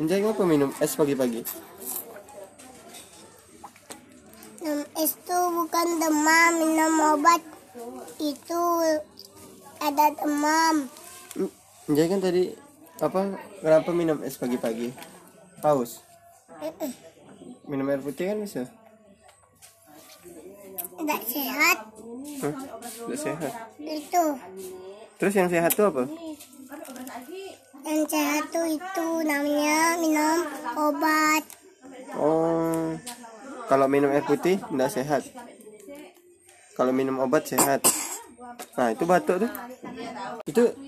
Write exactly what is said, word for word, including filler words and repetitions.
Enjay ngapa minum es pagi-pagi? Minum es tuh bukan demam, minum obat itu ada demam. Enjay kan tadi apa? Kenapa minum es pagi-pagi? Haus. Minum air putih kan bisa? Tidak sehat. Hah? Tidak sehat. Itu Terus yang sehat tuh apa? yang sehat tuh itu namanya minum obat. Oh, kalau minum air putih tidak sehat. Kalau minum obat sehat. Nah itu batuk tuh. Itu